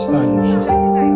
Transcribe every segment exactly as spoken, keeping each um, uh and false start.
Wstańmy wszyscy.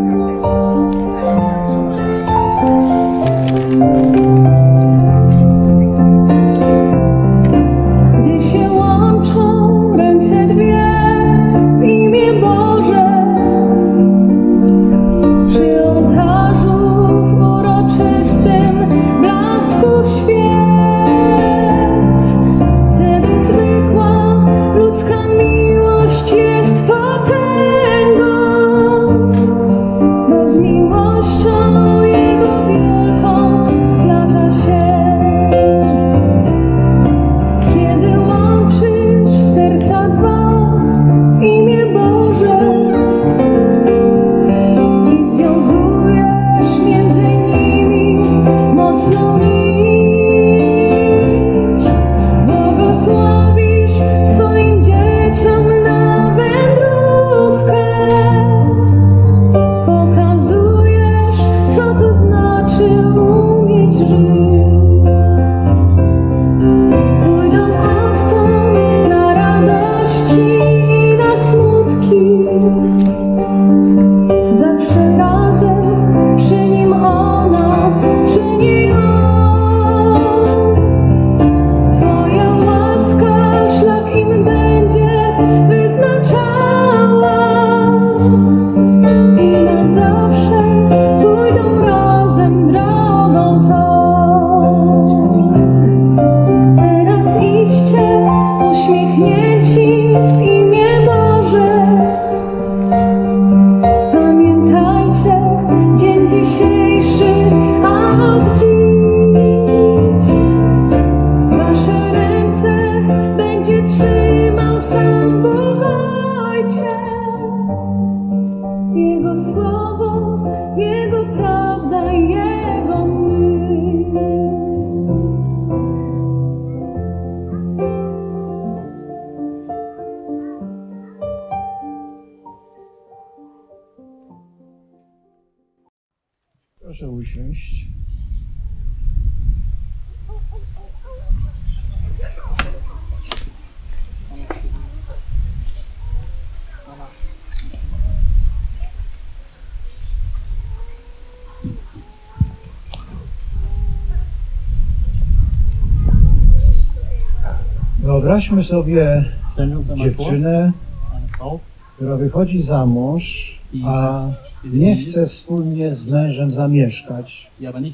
Proszę usiąść. Wyobraźmy sobie dziewczynę, która wychodzi za mąż, a nie chce wspólnie z mężem zamieszkać,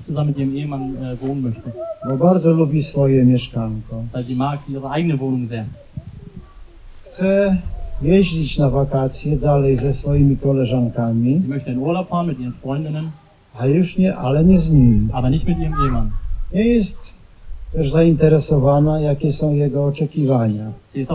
bo bardzo lubi swoje mieszkanko. Chce jeździć na wakacje dalej ze swoimi koleżankami, a już nie, ale nie z nim. Nie jest też zainteresowana, jakie są jego oczekiwania.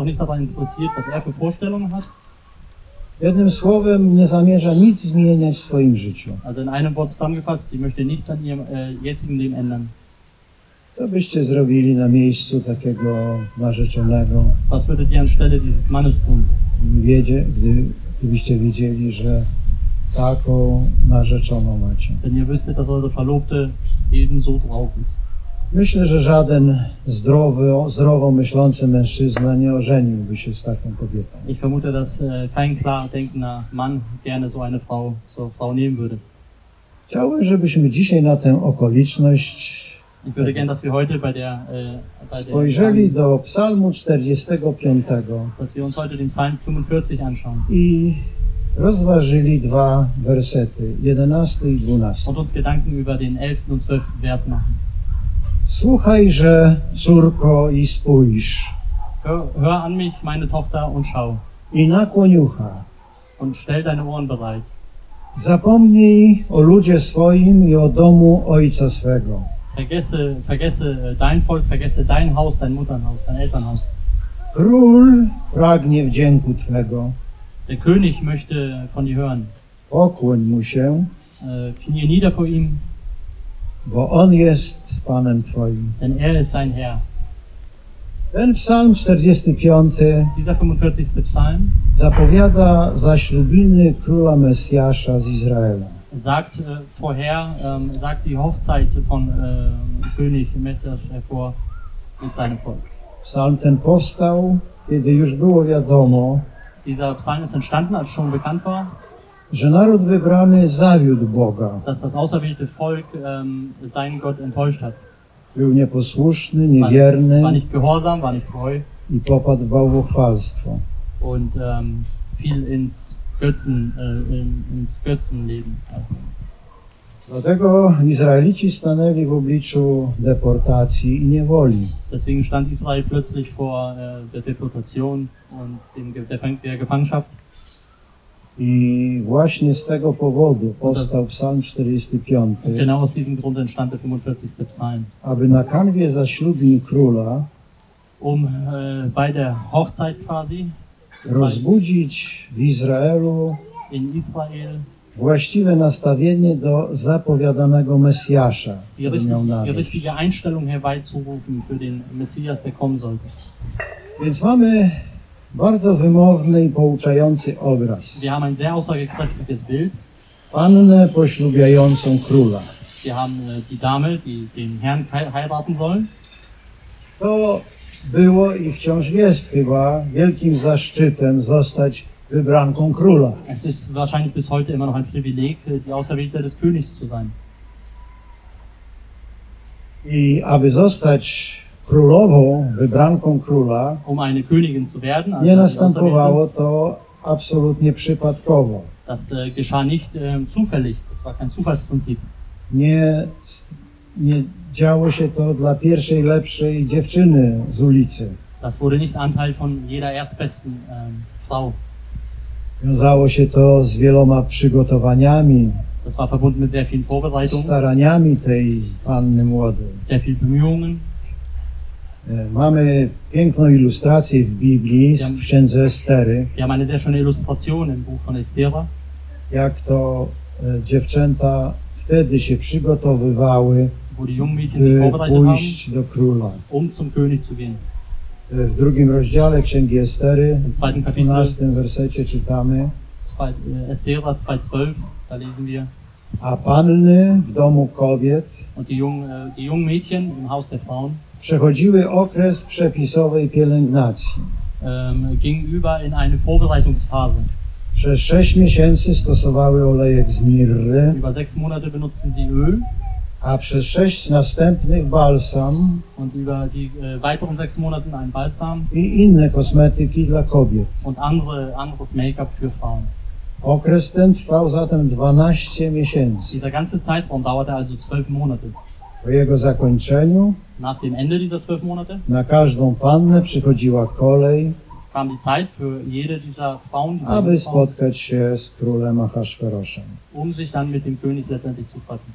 Jednym słowem, nie zamierza nic zmieniać w swoim życiu. Also in einem Wort zusammengefasst, sie möchte nichts an ihrem äh, jetzigen Leben ändern. Co byście zrobili na miejscu takiego narzeczonego? Was würdet ihr anstelle dieses Mannes tun? Wiedzie, gdy, gdybyście wiedzieli, że taką narzeczoną macie. Wenn ihr wüsstet, dass eure Verlobte ebenso drauf ist. Myślę, że żaden zdrowy, zdrowo myślący mężczyzna nie ożeniłby się z taką kobietą. Ich vermute, dass äh, kein klar denkender Mann gerne so eine Frau zur Frau nehmen würde. Chciałbym, żebyśmy dzisiaj na tę okoliczność Ich würde gerne, dass wir heute bei der, äh, bei spojrzeli der do Psalmu czterdziestego piątego dass wir uns heute den Psalm fünfundvierzig anschauen i rozważyli dwa wersety, jedenasty i dwunasty. und uns Gedanken über den elften und zwölften Vers machen. Słuchajże, córko, i spójrz, Hör, hör an mich, meine Tochter, und schau. i nakłoń ucha. Und stell deine Ohren bereit. Zapomnij o ludzie swoim i o domu ojca swego. Vergesse, vergesse dein Volk, vergesse dein Haus, dein Mutternhaus, dein Elternhaus. Król pragnie wdzięku Twego. Der König möchte von dir hören. Pokłoń mu się, Äh, knie nieder vor ihm, bo on jest Panem Twoim. denn er ist dein Herr. Ten psalm czterdziesty piąty Dieser fünfundvierzigste Psalm zapowiada zaślubiny króla Mesjasza z Izraelem. sagt äh, vorher, ähm, sagt die Hochzeit von äh, König Messias hervor mit seinem Volk. Psalm ten powstał, kiedy już było wiadomo, Dieser Psalm ist entstanden, als schon bekannt war, że naród wybrany zawiódł Boga. dass das auserwählte Volk ähm, seinen Gott enttäuscht hat. Był nieposłuszny, War, niewierny war nicht gehorsam, war nicht treu i popadł w bałwochwalstwo. und ähm, fiel ins Götzen, äh, in, ins Götzenleben. Also, Dlatego Izraelici stanęli w obliczu deportacji i niewoli. deswegen stand Israel plötzlich vor äh, der Deportation und dem, Ge- der, Fang- der Gefangenschaft. I właśnie z tego powodu powstał Psalm czterdziesty piąty, Und genau aus diesem Grund entstand der fünfundvierzigste Psalm. aby na kanwie zaślubin króla Um äh, bei der Hochzeit quasi rozbudzić w Izraelu in Israel właściwe nastawienie do zapowiadanego Mesjasza, die, który richtig, miał die nadejść. richtige Einstellung herbeizurufen für den Messias, der kommen sollte. Więc mamy bardzo wymowny i pouczający obraz. Wir haben ein sehr aussagekräftiges Bild. Pannę poślubiającą króla. Wir haben äh, die Dame, die den Herrn hei- heiraten soll. To było i wciąż jest chyba wielkim zaszczytem zostać wybranką króla. Es ist wahrscheinlich bis heute immer noch ein Privileg, äh, die Auserwählte des Königs zu sein. I aby zostać królową, wybranką króla, Um eine Königin zu werden, also nie die następowało Auserwählte, to absolutnie przypadkowo. das äh, geschah nicht äh, zufällig, das war kein Zufallsprinzip. Nie, nie działo się to dla pierwszej, lepszej dziewczyny z ulicy. Das wurde nicht Anteil von jeder erstbesten ähm, Frau. Wiązało się to z wieloma przygotowaniami, Das war verbunden mit sehr vielen Vorbereitungen, staraniami tej panny młodej. sehr viel Bemühungen. E, Mamy piękną ilustrację w Biblii, w księdze Estery, Wir haben eine sehr schöne Illustration im Buch von Estera, jak to e, dziewczęta wtedy się przygotowywały, wo die jungen Mädchen sich by vorbereitet haben, pójść do króla. um zum König zu gehen. E, W drugim rozdziale księgi Estery, Im zweiten w Kapitel, dwunastym wersecie czytamy: zwei, äh, Estera zwei zwölf, da lesen wir, a panny w domu kobiet und die jungen, äh, die jungen Mädchen im Haus der Frauen przechodziły okres przepisowej pielęgnacji. ähm, gingen über in eine Vorbereitungsphase. Przez sześć miesięcy stosowały olejek z mirry, Über sechs Monate benutzten sie Öl a przez sześć następnych balsam und über die äh, weiteren sechs Monaten ein Balsam i inne kosmetyki dla kobiet. und andere, anderes Make-up für Frauen. Okres ten trwał zatem dwanaście miesięcy. Dieser ganze Zeitraum dauerte also zwölf Monate. Po jego zakończeniu Nach dem Ende dieser zwölf Monate na każdą pannę przychodziła kolej, kam die Zeit für jede dieser Frauen, dieser aby jungen Frauen, spotkać się z królem Ahasferoszem. um sich dann mit dem König letztendlich zu treffen.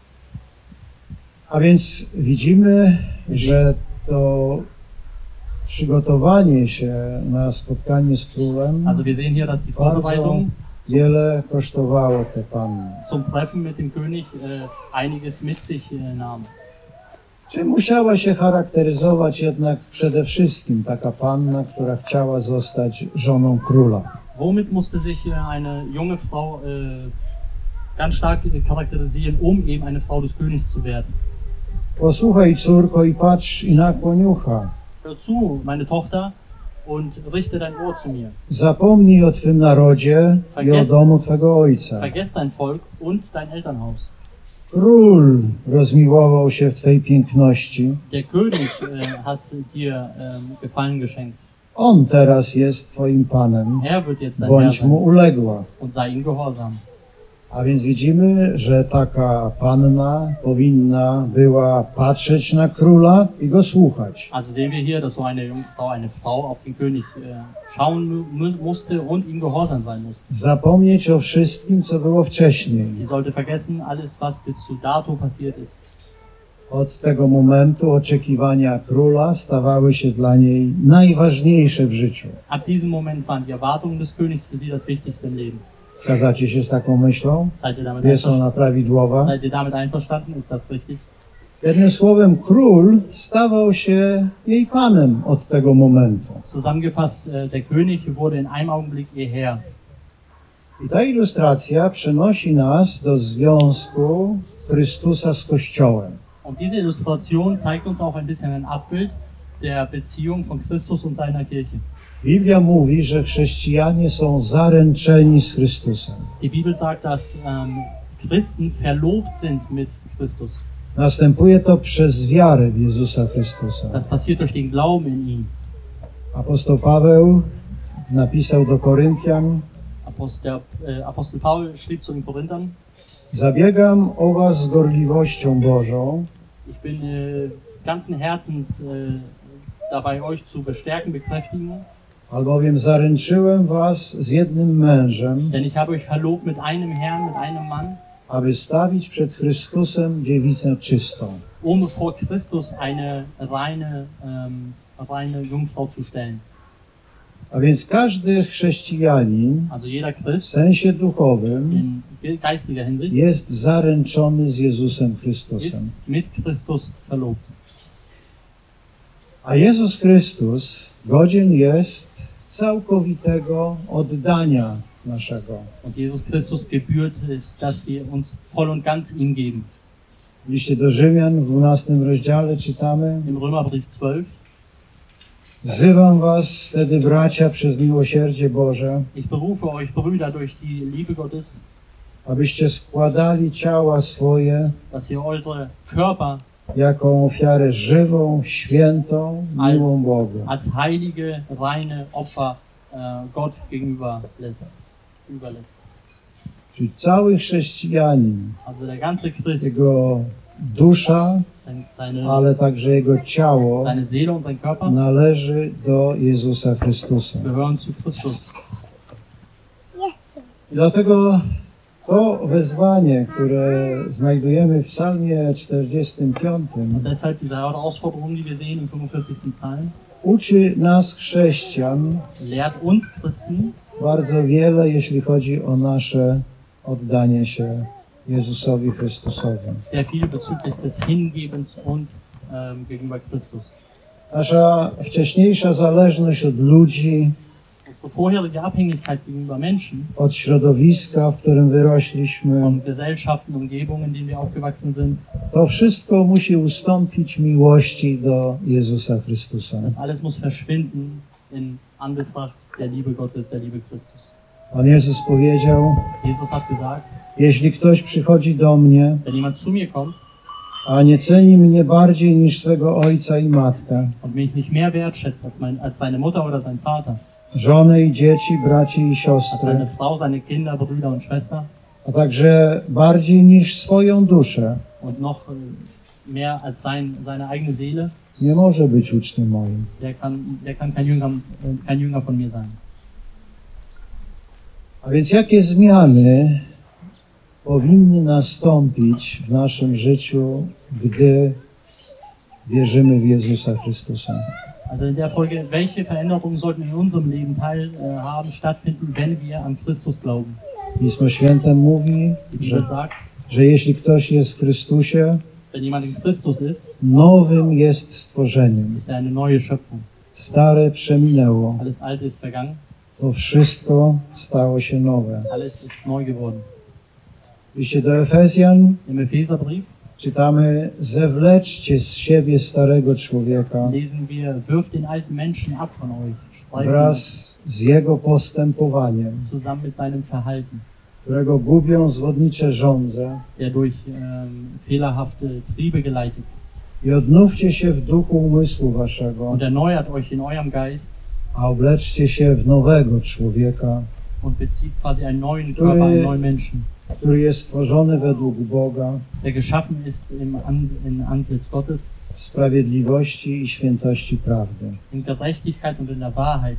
A więc widzimy, że to przygotowanie się na spotkanie z królem Also wir sehen hier, dass die bardzo Vorbereitung wiele kosztowało te panny. zum Treffen mit dem König äh, einiges mit sich äh, nahm. Czy musiała się charakteryzować jednak przede wszystkim taka panna, która chciała zostać żoną króla? Womit musste sich äh, eine junge Frau äh, ganz stark äh, charakterisieren, um eben eine Frau des Königs zu werden? Posłuchaj, córko, i patrz i nakłoń ucha. Hör zu, meine Tochter, und richte dein Ohr zu mir. Zapomnij o twym narodzie i o domu twego ojca. Vergiss dein Volk und dein Elternhaus. Król rozmiłował się w twej piękności. Der König äh, hat dir ähm, Gefallen geschenkt. On teraz jest twoim panem. Er wird jetzt dein Herr Bądź mu sein uległa. und sei ihm gehorsam. A więc widzimy, że taka panna powinna była patrzeć na króla i go słuchać. Also sehen wir hier, dass so eine junge Frau, eine Frau auf den König äh, schauen mu mu musste und ihm gehorsam sein musste. Zapomnieć o wszystkim, co było wcześniej. Sie sollte vergessen alles, was bis zu dato passiert ist. Od tego momentu oczekiwania króla stawały się dla niej najważniejsze w życiu. Ab diesem Moment waren die Erwartungen des Königs für sie das Wichtigste im Leben. Zgadzacie się z taką myślą? Seid ihr damit, Jest einver ona prawidłowa? Seid ihr damit einverstanden? Ist das richtig? Jednym słowem, król stawał się jej panem od tego momentu. Zusammengefasst, äh, der König wurde in einem Augenblick ihr Herr. I ta ilustracja przenosi nas do związku Chrystusa z Kościołem. Und diese Illustration zeigt uns auch ein bisschen ein Abbild der Beziehung von Christus und seiner Kirche. Biblia mówi, że chrześcijanie są zaręczeni z Chrystusem. Die Bibel sagt, dass ähm, Christen verlobt sind mit Christus. Następuje to przez wiarę w Jezusa Chrystusa. Das passiert durch den Glauben in ihn. Apostoł Paweł napisał do Koryntian: Apostel, äh, Apostel Paul schrieb zu den Korinthern: Zabiegam o was z gorliwością Bożą, Ich bin äh, ganzen Herzens äh, dabei, euch zu bestärken, bekräftigen, albowiem zaręczyłem was z jednym mężem, denn ich habe euch verlobt mit einem Herrn, mit einem Mann, aby stawić przed Chrystusem dziewicę czystą. um vor Christus eine reine, ähm, reine Jungfrau zu stellen. A więc każdy chrześcijanin Also jeder w Christ sensie duchowym in geistiger Hinsicht jest zaręczony z Jezusem ist Chrystusem. mit Christus verlobt. A Jezus Chrystus godzien jest całkowitego oddania naszego. Und Jesus Christus gebührt ist, dass wir uns voll und ganz ihm geben. W liście do Rzymian w dwunastym rozdziale czytamy: Im Römerbrief zwölf: Wzywam was wtedy, bracia, przez miłosierdzie Boże, Ich berufe euch, Brüder, durch die Liebe Gottes, abyście składali ciała swoje dass ihr eure Körper jako ofiarę żywą, świętą, miłą Bogu. als heilige, reine Opfer äh, Gott gegenüber lässt, überlässt. Czyli cały chrześcijanin, Also der ganze Christ, jego dusza, sein, seine, ale także jego ciało seine Seele und sein Körper należy do Jezusa Chrystusa. gehören zu Christus. I dlatego to wezwanie, które znajdujemy w psalmie czterdziestym piątym, Und deshalb diese Herausforderung, die wir sehen im fünfundvierzigsten Psalm, uczy nas chrześcijan lehrt uns Christen bardzo wiele, jeśli chodzi o nasze oddanie się Jezusowi Chrystusowi. sehr viel bezüglich des Hingebens uns ähm, gegenüber Christus. Nasza wcześniejsza zależność od ludzi, Unsere vorherige Abhängigkeit gegenüber Menschen, od środowiska, w którym wyrośliśmy, von Gesellschaften, Umgebungen, in denen wir aufgewachsen sind, to wszystko musi ustąpić miłości do Jezusa Chrystusa. das alles muss verschwinden in Anbetracht der Liebe Gottes, der Liebe Christus. Pan Jezus powiedział: Jesus hat gesagt, jeśli ktoś przychodzi do mnie, wenn jemand zu mir kommt a nie ceni mnie bardziej niż swego ojca i matkę, und mich nicht mehr wertschätzt als, mein, als seine Mutter oder sein Vater, żonę i dzieci, braci i als siostry, seine Frau, seine Kinder, Brüder und Schwester a także bardziej niż swoją duszę, und noch äh, mehr als sein, seine eigene Seele, nie może być uczniem moim. der kann, der kann kein, Jünger, äh, kein Jünger von mir sein. A więc jakie zmiany powinny nastąpić w naszym życiu, gdy wierzymy w Jezusa Chrystusa? Also in der Folge, welche Veränderungen sollten in unserem Leben teilhaben, stattfinden, wenn wir an Christus glauben? Pismo Święte mówi, Die Bibel że, sagt, że jeśli ktoś jest w Chrystusie, wenn jemand in Christus ist, nowym jest stworzeniem. ist er eine neue Schöpfung. Stare przeminęło, Alles Alte ist vergangen, to wszystko stało się nowe. alles ist neu geworden. W liście do Efezjan Im Epheserbrief czytamy: zewleczcie z siebie starego człowieka lesen wir, wirft den alten Menschen ab von euch, streicht ihn wraz z jego postępowaniem, zusammen mit seinem Verhalten, którego gubią zwodnicze żądze, der durch ähm, fehlerhafte Triebe geleitet ist. i odnówcie się w duchu umysłu waszego, Und erneuert euch in eurem Geist a obleczcie się w nowego człowieka, und bezieht quasi einen neuen Körper, einen neuen Menschen, który jest stworzony według Boga der geschaffen ist im An in Antlitz Gottes, w sprawiedliwości i świętości prawdy. in Gerechtigkeit und in der Wahrheit.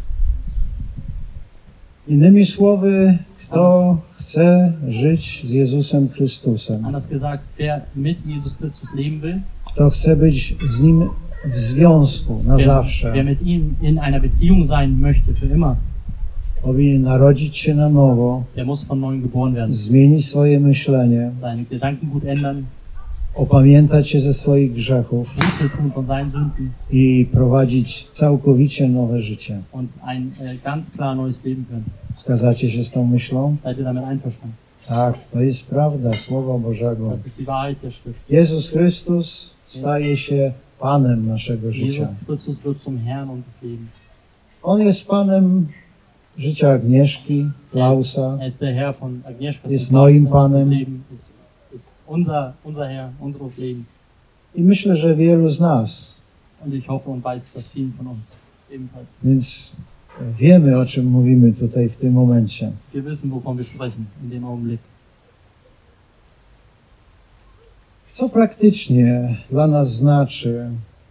Innymi słowy, kto chce żyć z Jezusem Chrystusem, Anders gesagt, wer mit Jesus Christus leben will, kto chce być z Nim w związku na wer, zawsze, wer mit ihm in einer Beziehung sein möchte für immer, powinien narodzić się na nowo, der muss von neuem geboren werden, zmienić swoje myślenie, seine Gedanken gut ändern, opamiętać się ze swoich grzechów Buße tun von seinen Sünden i prowadzić całkowicie nowe życie. und ein äh, ganz klar neues Leben führen. Zgadzacie się z tą myślą? Seid ihr damit einverstanden? Tak, to jest prawda Słowa Bożego. Das ist die Wahrheit der Schrift. Jezus Chrystus staje się Panem naszego życia. Jesus Christus wird zum Herrn unseres Lebens. On jest Panem życia Agnieszki, Klausa, Er ist der Herr von Agnieszka. jest moim Panem. Leben ist, ist unser, unser Herr unseres Lebens. I myślę, że wielu z nas. Und ich hoffe und weiß, dass vielen von uns ebenfalls. Więc wiemy, o czym mówimy tutaj w tym momencie. Wir wissen, wovon wir sprechen in dem Augenblick. Co praktycznie dla nas znaczy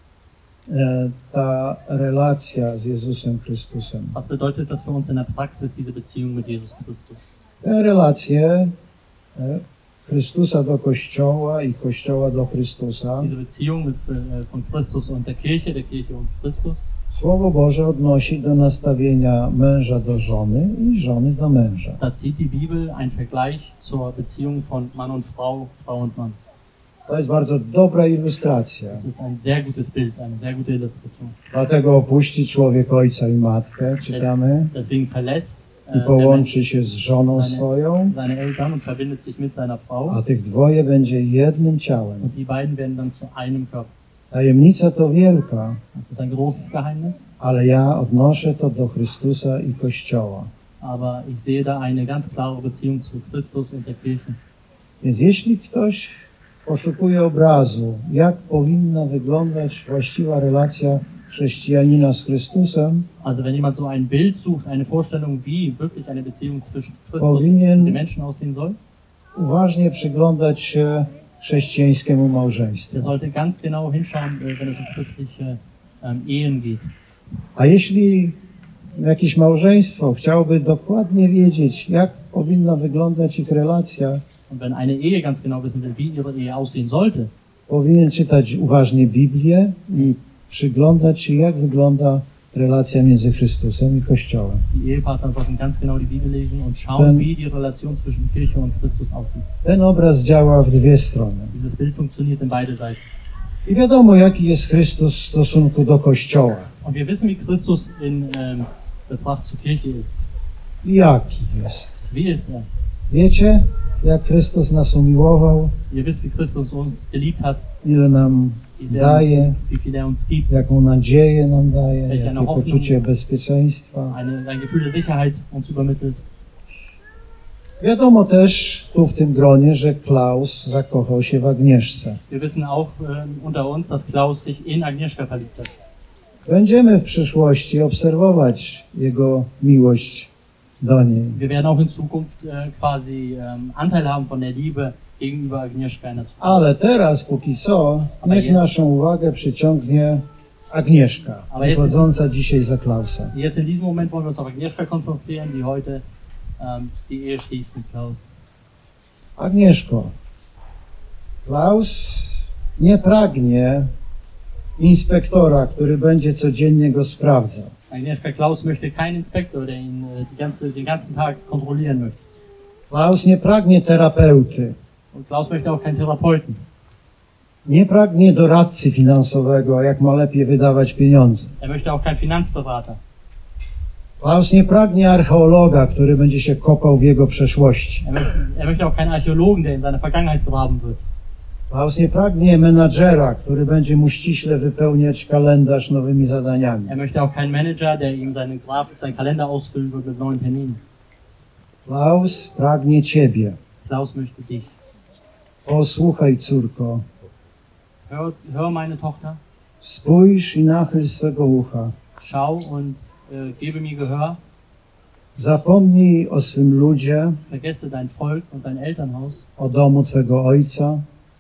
e, ta relacja z Jezusem Chrystusem? Was bedeutet das für uns in der Praxis, diese Beziehung mit Jesus Christus? Te relacje e, Chrystusa do Kościoła i Kościoła do Chrystusa. Diese Beziehung mit, äh, von Christus und der Kirche, der Kirche und Christus. Słowo Boże odnosi do nastawienia męża do żony i żony do męża. Da zieht die Bibel einen Vergleich zur Beziehung von Mann und Frau, Frau und Mann. To jest bardzo dobra ilustracja. Das ist ein sehr gutes Bild, eine sehr gute Illustration. Dlatego opuści człowiek ojca i matkę, czytamy, Deswegen verlässt i äh, der połączy Mensch się z żoną swoją, seine Eltern und verbindet sich mit seiner Frau. a tych dwoje będzie jednym ciałem. Und die beiden werden dann zu einem Körper. Tajemnica to wielka, Das ist ein großes Geheimnis, ale ja odnoszę to do Chrystusa i Kościoła. aber ich sehe da eine ganz klare Beziehung zu Christus und der Kirche. Więc jeśli ktoś poszukuje obrazu, jak powinna wyglądać właściwa relacja chrześcijanina z Chrystusem, Also wenn jemand so ein Bild sucht, eine Vorstellung, wie wirklich eine Beziehung zwischen Christus Powinien- und den Menschen aussehen soll, uważnie przyglądać się chrześcijańskiemu małżeństwu. der sollte ganz genau hinschauen, äh, wenn es um christliche ähm, Ehen geht. A jeśli jakieś małżeństwo chciałoby dokładnie wiedzieć, jak powinna wyglądać ich relacja, Und wenn eine Ehe ganz genau wissen will, wie ihre Ehe aussehen sollte, powinien czytać uważnie Biblię i przyglądać się, jak wygląda relacja między Chrystusem i Kościołem. die Ehepartner sollten ganz genau die Bibel lesen und schauen, Dann- wie die Relation zwischen Kirche und Christus aussieht. Ten obraz działa w dwie strony. Dieses Bild funktioniert in beide Seiten. I wiadomo, jaki jest Chrystus w stosunku do Kościoła. Und wir wissen, wie Christus in ähm, Betracht zur Kirche ist. I jaki jest. Wie ist er? Wiecie, jak Chrystus nas umiłował, Ihr wisst, wie Christus uns geliebt hat, ile nam wie sehr er uns daje, liebt, wie viel er uns gibt. jaką nadzieję nam daje, Welche jakie Hoffnung. poczucie bezpieczeństwa. Eine, ein Gefühl der Sicherheit uns übermittelt. Wiadomo też tu w tym gronie, że Klaus zakochał się w Agnieszce. Wir wissen auch ähm, unter uns, dass Klaus sich in Agnieszka verliebt hat. Będziemy w przyszłości obserwować jego miłość do niej. Wir werden auch in Zukunft äh, quasi ähm, Anteil haben von der Liebe gegenüber Agnieszka in der Zukunft. Ale teraz, póki co, Ale niech je- naszą uwagę przyciągnie Agnieszka, Ale jest- wychodząca dzisiaj za Klausa. Jetzt in diesem Moment wollen wir uns auf Agnieszka konzentrieren, die heute ähm, die Ehe schließt mit Klaus. Agnieszko, Klaus nie pragnie inspektora, który będzie codziennie go sprawdzał. Agnieszka, Klaus möchte keinen Inspektor, der ihn äh, die ganze, den ganzen Tag kontrollieren möchte. Klaus nie pragnie terapeuty, Und Klaus möchte auch keinen Therapeuten. nie pragnie doradcy finansowego, jak ma lepiej wydawać pieniądze. Er möchte auch keinen Finanzberater. Klaus nie pragnie archeologa, który będzie się kopał w jego przeszłości. Er möchte, er möchte auch keinen Archäologen, der in seine Vergangenheit graben wird. Klaus nie pragnie menadżera, który będzie mu ściśle wypełniać kalendarz nowymi zadaniami. Er möchte auch keinen Manager, der ihm seine Grafik, seinen Kalender ausfüllen wird mit neuen Terminen. Klaus pragnie ciebie. Klaus möchte dich. Posłuchaj, córko, Hör, hör meine Tochter, spójrz i nachyl swego ucha. schau und äh, gebe mir Gehör. Zapomnij o swym ludzie, Vergesse dein Volk und dein Elternhaus. o domu twego ojca.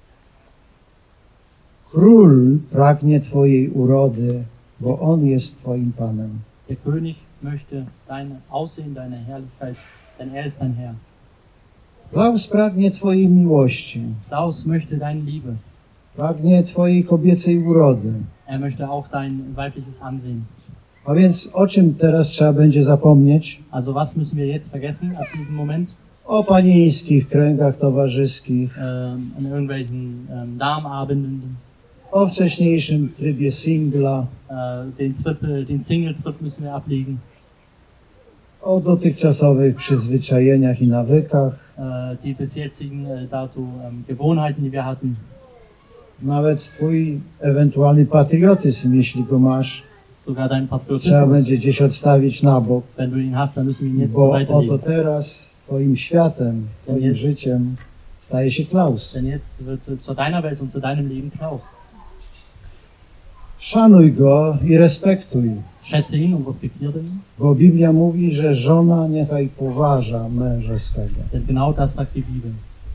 Król pragnie twojej urody, bo on jest twoim panem. Der König möchte dein Aussehen, deine Herrlichkeit, denn er ist dein Herr. Klaus pragnie twojej miłości, Klaus möchte deine Liebe. pragnie twojej kobiecej urody. Er möchte auch dein weibliches Ansehen. A więc o czym teraz trzeba będzie zapomnieć? Also was müssen wir jetzt vergessen ab diesem Moment? O panieńskich kręgach towarzyskich, Ähm, an irgendwelchen ähm, Darmabenden, o wcześniejszym trybie singla, äh, den, Trip, äh, den Single-Trip müssen wir ablegen. o dotychczasowych przyzwyczajeniach i nawykach, Äh, die bis jetzigen äh, dato ähm, Gewohnheiten, die wir hatten. nawet twój ewentualny patriotyzm, jeśli go masz, sogar deinen Trzeba Patriotismus. będzie gdzieś odstawić na bok, Wenn du ihn hast, dann müssen wir ihn jetzt zur bo Seite oto legen. teraz Twoim światem, Twoim jest- życiem staje się Klaus. Denn jetzt wird äh, zu deiner Welt und zu deinem Leben Klaus. Szanuj go i respektuj, Schätze ihn und respektiere ihn, bo Biblia mówi, że żona niechaj poważa męża swego. denn genau das sagt die Bibel.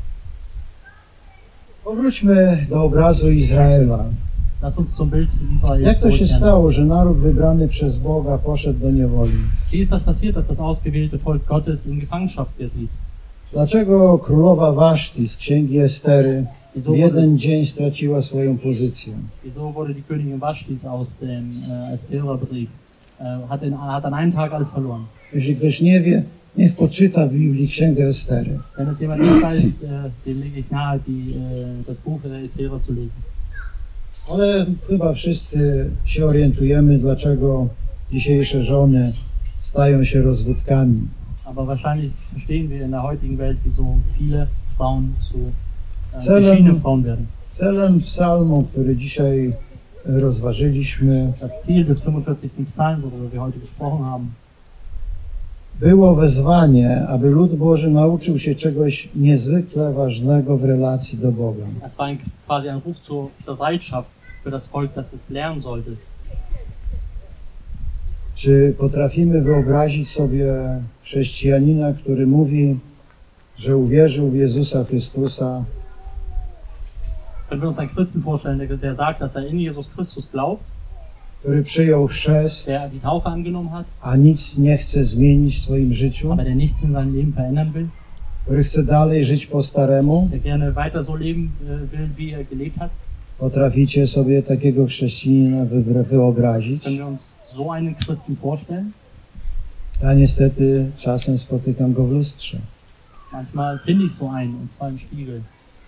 Powróćmy do obrazu Izraela. Lass uns zum Bild Israels Jak to się zurückkehren. stało, że naród wybrany przez Boga poszedł do niewoli? Wie ist das passiert, dass das ausgewählte Volk Gottes in Gefangenschaft geriet? Dlaczego królowa Waszti z księgi Estery Wieso w wurde, jeden dzień straciła swoją pozycję? wieso wurde die Königin Vashti aus dem äh, Estera-Brief, äh, hat, in, hat an einem Tag alles verloren? Jeśli ktoś nie wie, niech poczyta w Biblii księgę Estery. Wenn es jemand nicht weiß, äh, dem lege ich nahe, die, äh, das Buch der Estera zu lesen. Ale chyba wszyscy się orientujemy, dlaczego dzisiejsze żony stają się rozwódkami. Aber wahrscheinlich verstehen wir in der heutigen Welt, wieso viele Frauen zu äh, Celem- geschiedenen Frauen werden. Celem psalmu, który dzisiaj rozważyliśmy, Das Ziel des fünfundvierzigsten Psalms, worüber wir heute gesprochen haben, było wezwanie, aby lud Boży nauczył się czegoś niezwykle ważnego w relacji do Boga. es war ein, quasi ein Ruf zur Bereitschaft für das Volk, dass es lernen sollte. Czy potrafimy wyobrazić sobie chrześcijanina, który mówi, że uwierzył w Jezusa Chrystusa, Können wir uns einen Christen vorstellen, der, der sagt, dass er in Jesus Christus glaubt, który przyjął chrzest, der die Taufe angenommen hat, a nic nie chce zmienić w swoim życiu, aber der nichts in seinem Leben verändern will, który chce dalej żyć po staremu? der gerne weiter so leben äh, will, wie er gelebt hat? Potraficie sobie takiego chrześcijanina wy- wyobrazić? Können wir uns so einen Christen vorstellen? Ja niestety czasem spotykam go w lustrze, Manchmal finde ich so einen, und zwar im Spiegel.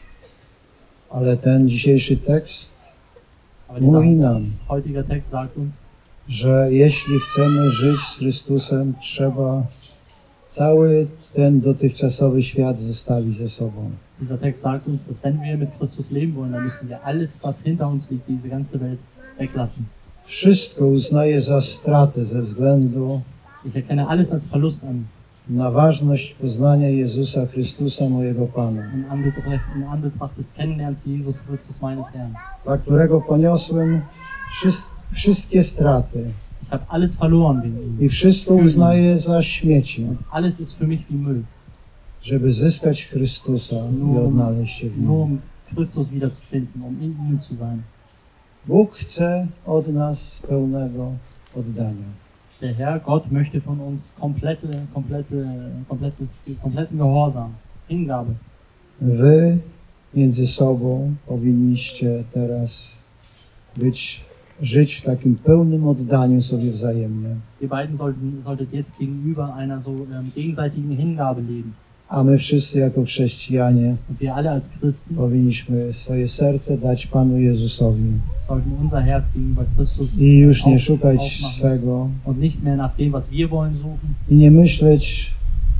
ale ten dzisiejszy tekst Aber mówi dieser nam, heutige Text sagt uns, że jeśli chcemy żyć z Chrystusem, trzeba cały ten dotychczasowy świat zostawić ze sobą. dieser Text sagt uns, dass wenn wir mit Christus leben wollen, dann müssen wir alles, was hinter uns liegt, diese ganze Welt, weglassen. Wszystko uznaję za stratę ze względu Ich erkenne alles als Verlust an, na ważność poznania Jezusa Chrystusa, mojego Pana, in Anbetracht, in Anbetracht des Kennenlernens Jesus Christus meines Herrn. dla którego poniosłem wszys- wszystkie straty Ich habe alles verloren wegen ihm. i wszystko uznaję za śmieci, Alles ist für mich wie Müll, żeby zyskać Chrystusa i odnaleźć się w nur Nim. um Christus wiederzufinden, um in ihm zu sein. Bóg chce od nas pełnego oddania. Der Herr Gott möchte von uns komplette, komplette, komplettes, kompletten Gehorsam, Hingabe. Wy między sobą powinniście teraz być, żyć w takim pełnym oddaniu sobie wzajemnie. Ihr beiden sollten, solltet jetzt gegenüber einer so ähm, gegenseitigen Hingabe leben. A my wszyscy jako chrześcijanie Und wir alle als Christen powinniśmy swoje serce dać Panu Jezusowi sollten unser Herz gegenüber Christus i już nie auf- szukać aufmachen swego und nicht mehr nach dem, was wir wollen, suchen i nie myśleć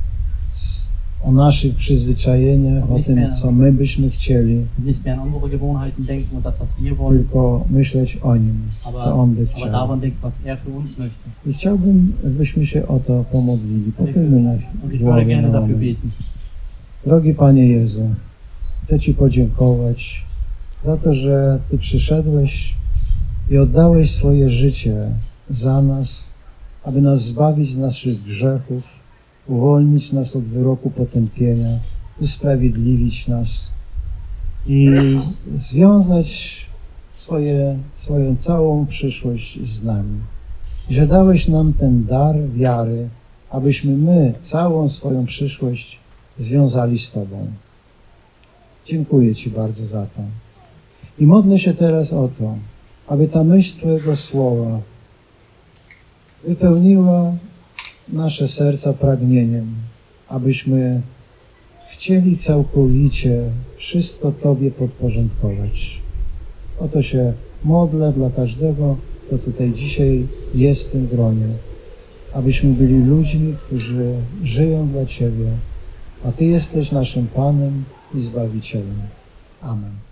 o naszych przyzwyczajeniach, o tym, co my byśmy chcieli, und nicht mehr an unsere Gewohnheiten denken und das, was wir wollen, tylko myśleć o Nim, co On by aber chciał. daran denken, was er für uns möchte. I chciałbym, byśmy się o to pomodlili. Pochylmy na Und ich würde głowie gerne na dafür moment. beten. Drogi Panie Jezu, chcę Ci podziękować za to, że Ty przyszedłeś i oddałeś swoje życie za nas, aby nas zbawić z naszych grzechów, uwolnić nas od wyroku potępienia, usprawiedliwić nas i związać swoje, swoją całą przyszłość z nami. I że dałeś nam ten dar wiary, abyśmy my całą swoją przyszłość związali z Tobą. Dziękuję Ci bardzo za to. I modlę się teraz o to, aby ta myśl Twojego słowa wypełniła nasze serca pragnieniem, abyśmy chcieli całkowicie wszystko Tobie podporządkować. O to się modlę dla każdego, kto tutaj dzisiaj jest w tym gronie, abyśmy byli ludźmi, którzy żyją dla Ciebie, a Ty jesteś naszym Panem i Zbawicielem. Amen.